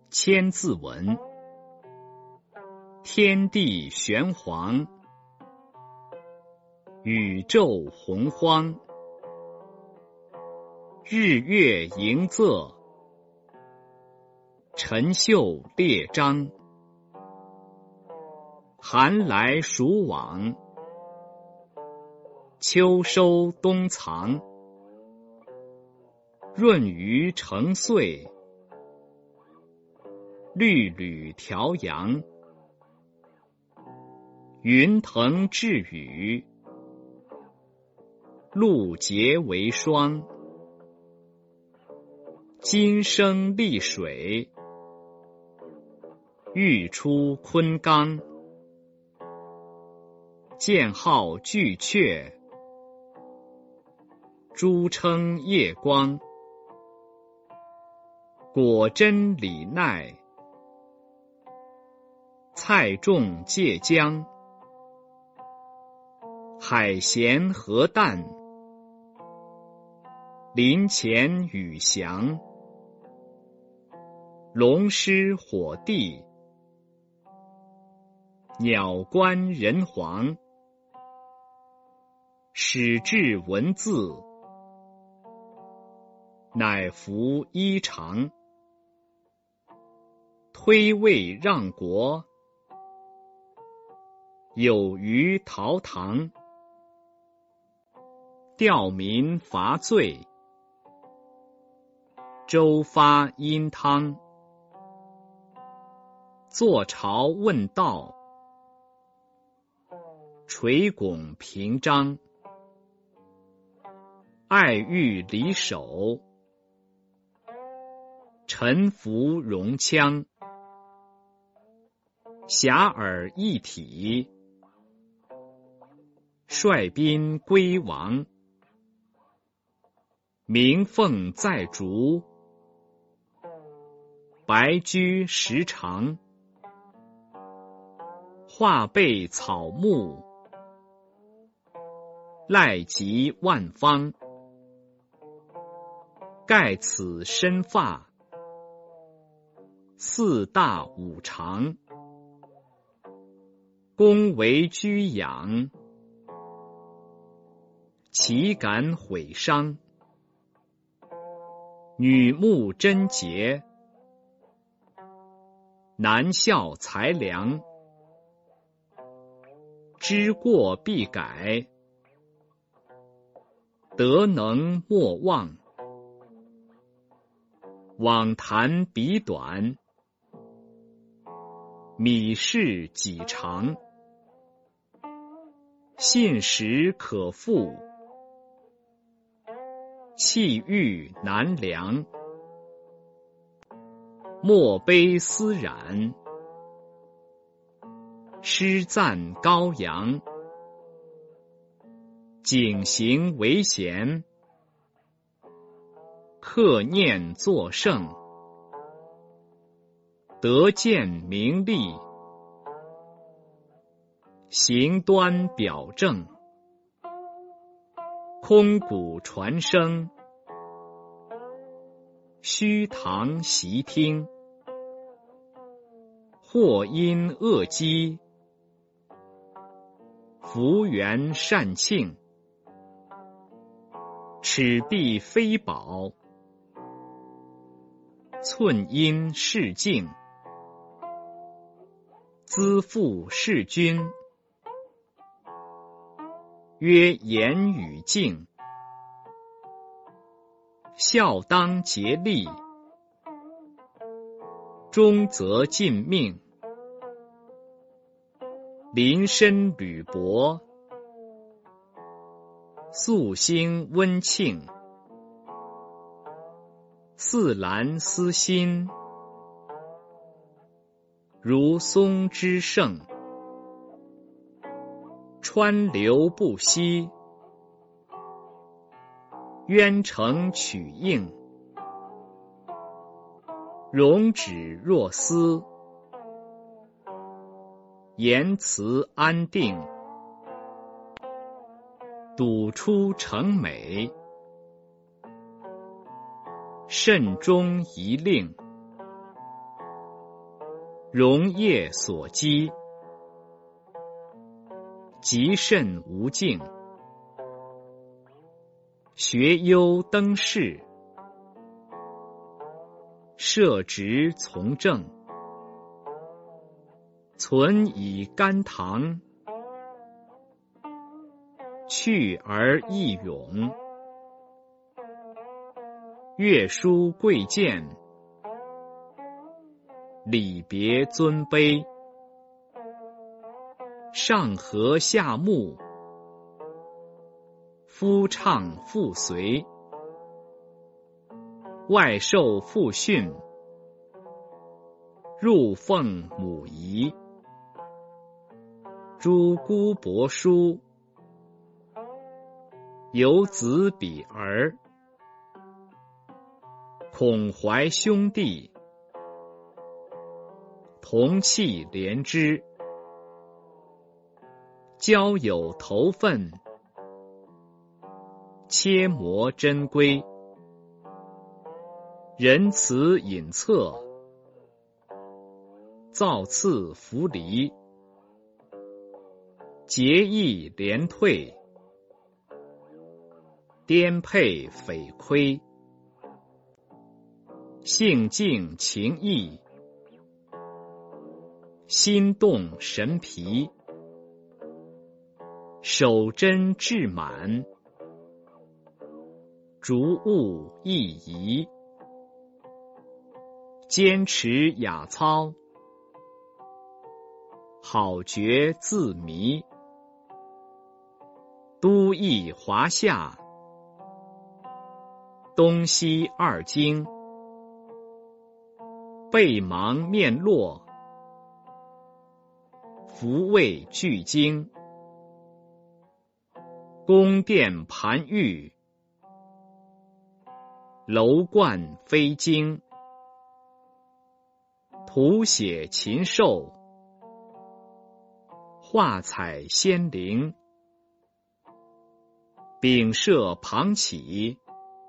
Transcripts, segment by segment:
千字文。天地玄黄，宇宙洪荒，日月盈仄，辰宿列张，寒来暑往，秋收冬藏，闰余成岁，律吕调阳，云腾致雨，露结为霜，金生丽水，玉出昆冈，剑号巨阙，珠称夜光，果真李奈，菜种芥姜，海咸河淡，林潜雨翔，龙师火帝，鸟官人皇，始制文字，乃服衣裳，推位让国，有虞陶唐，吊民伐罪，周发殷汤，坐朝问道，垂拱平章，爱欲离手，臣服戎羌，遐迩一体，率兵归王，鸣凤在竹，白驹时长，画背草木，赖及万方，盖此身发，四大五常，公为居养，岂敢毁伤？女慕贞洁，男效才良，知过必改，德能莫忘，妄谈彼短，米事己长，信实可复，气郁难量，莫悲思染，诗赞高扬，景行为贤，克念作圣，得见名利，行端表正，空谷传声，虚堂习听，或因恶积，福缘善庆，尺璧非宝，寸阴是镜，资父是君，曰言语敬，孝当竭力，忠则尽命，临深履薄，肃兴温庆，似兰思心，如松之盛，川流不息，渊成曲应，容止若丝，言辞安定，笃出成美，慎终一令， 溶液所积，极甚无尽。学优登仕，设职从政，存以甘棠，去而益勇。乐书贵贱，礼别尊卑。上和下睦，夫唱妇随。外受父训，入奉母仪。诸姑伯叔，有子比儿。孔怀兄弟，同气连枝。交友投分，切磨珍贵。仁慈隐恻，造次弗离。节义廉退，颠沛匪亏。性静情逸，心动神疲。守贞志满，逐物易移。坚持雅操，好觉自迷。都邑华夏，东西二京。背芒面落，福位俱精。宫殿盘玉，楼观飞经。图写禽兽，画彩仙灵。丙舍旁起，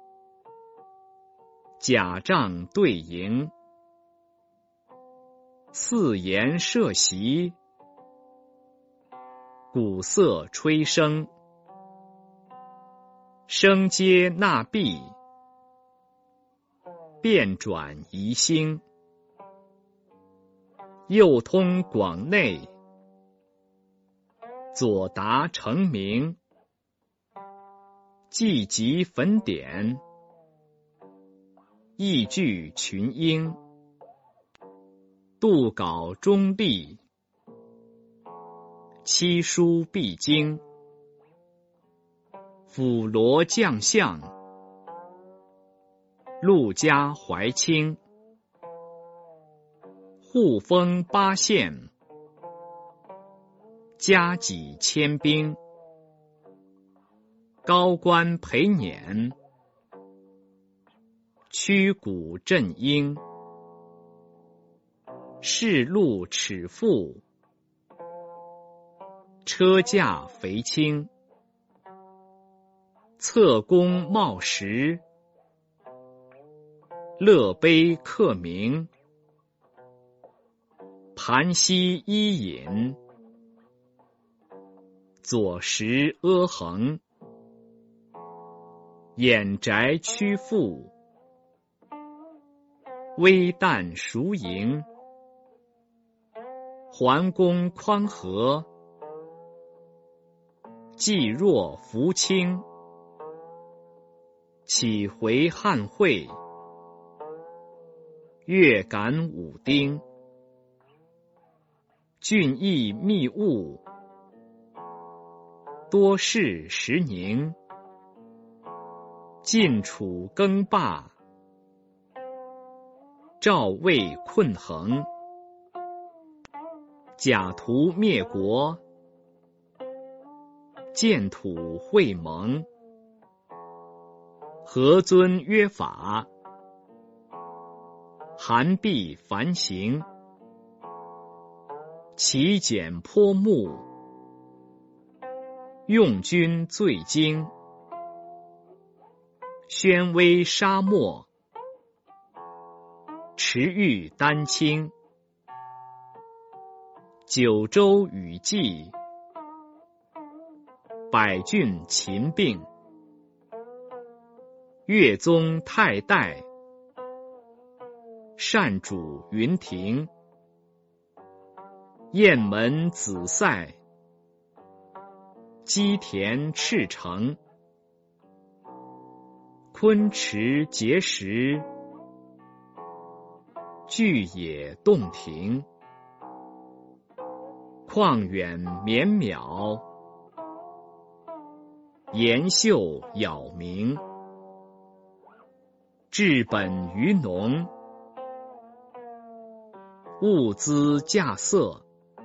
甲帐对营。四筵设席，鼓瑟吹笙。声接纳毕，变转移星。右通广内，左达成名。既集焚典，意聚群英。杜稿中立，七书必经。辅罗将相，陆家怀清。护封八县，加给千兵。高官陪辇，驱鼓振缨。士禄尺富，车驾肥轻。侧弓冒石，乐碑刻名。盘膝伊尹，左石阿衡。掩宅屈阜，微旦熟营。桓公匡和，济弱扶倾。启回汉会，月感武丁。俊逸密物，多事时宁。晋楚更霸，赵魏困衡。假图灭国，建土会盟。何尊约法，韩必繁行。其简颇目，用君最精。宣威沙漠，持玉丹青。 九州雨霁，百郡秦并。岳宗太代，单主云亭。雁门紫塞，鸡田赤城。昆池碣石，巨野洞庭。旷远绵渺，岩秀杳冥。治本于农，物资稼穑。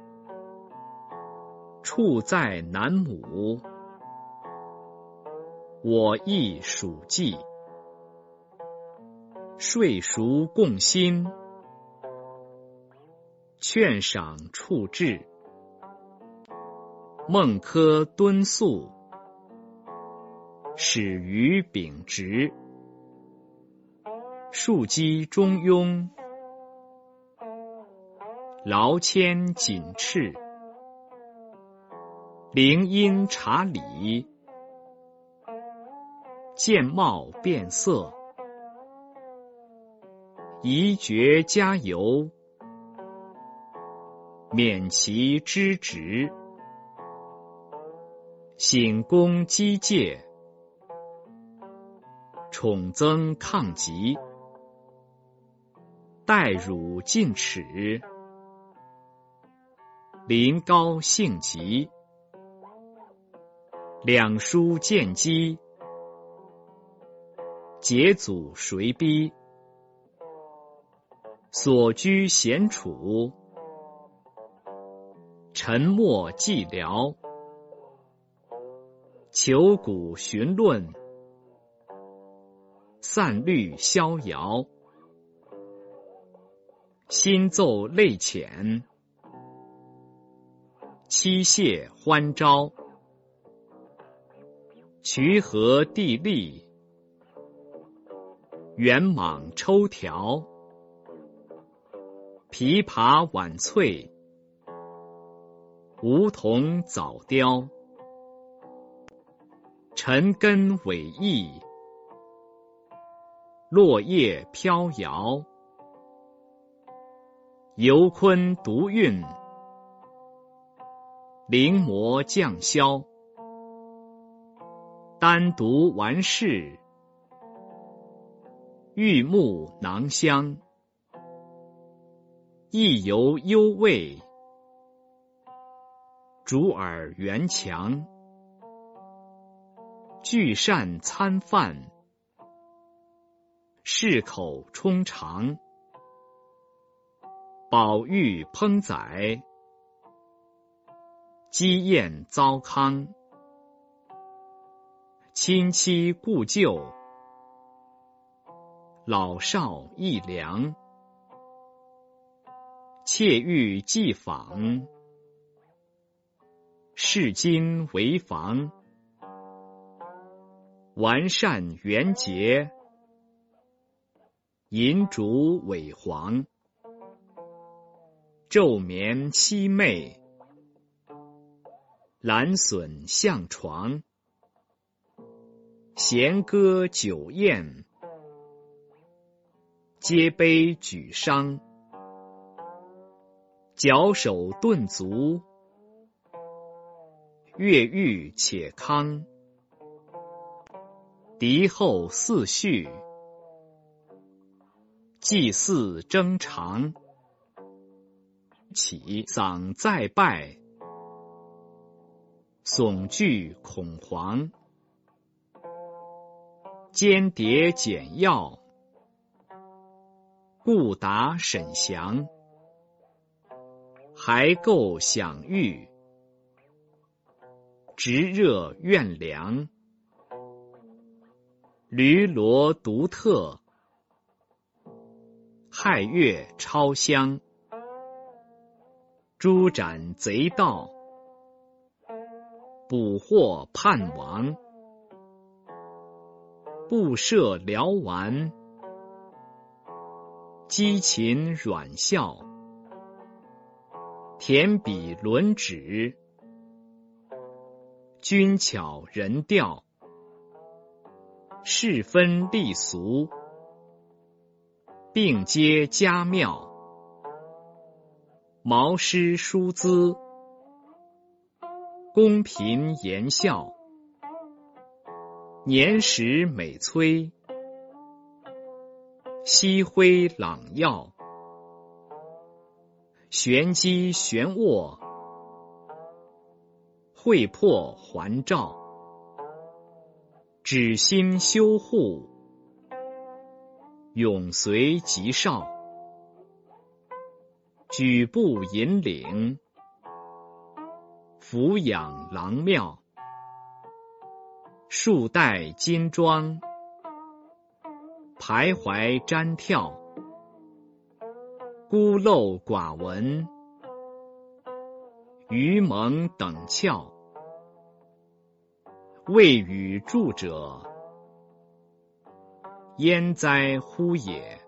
处在南亩，我亦属稷。税熟共薪，劝赏处置。孟轲敦肃，始于秉直。庶几中庸，劳谦谨斥。灵音察理，见貌变色。宜爵加油，免其之职。省功积戒，宠增抗疾。待汝进齿，临高兴疾。两书见机，解阻谁逼。所居闲处，沉默寂寥。求古寻论，散律逍遥。心奏泪浅，妻谢欢招。渠河地利，圆蟒抽条。琵琶晚翠，梧桐早凋。尘根委翳，落叶飘摇。游昆独韵，临摹降霄。单独完事，玉木囊香。意犹幽味，竹耳圆墙。聚善参饭，适口充肠。宝玉烹宰，鸡宴糟糠。亲戚故旧，老少益良。妾欲寄访，视今为房。完善圆洁，银烛萎黄。昼眠夕寐，兰笋向床。弦歌酒宴，皆悲举觞。矫首顿足，乐欲且康。敌后四序，祭祀征长。起丧再拜，悚惧恐惶。间谍简要，故答审详。还构享誉，直热怨凉。驴骡独特，亥月超香。诛斩贼盗，捕获叛王。布设辽丸，鸡禽软笑。 田比轮指，君巧人调，世分立俗，并接佳妙，毛诗书资，公平言孝，年时美催，夕辉朗耀，玄机玄握，会破环照，止心修护，永随吉少，举步引领，俯仰郎庙，束带金装，徘徊瞻跳，孤陋寡闻，愚蒙等窍，未与著者，焉哉乎也！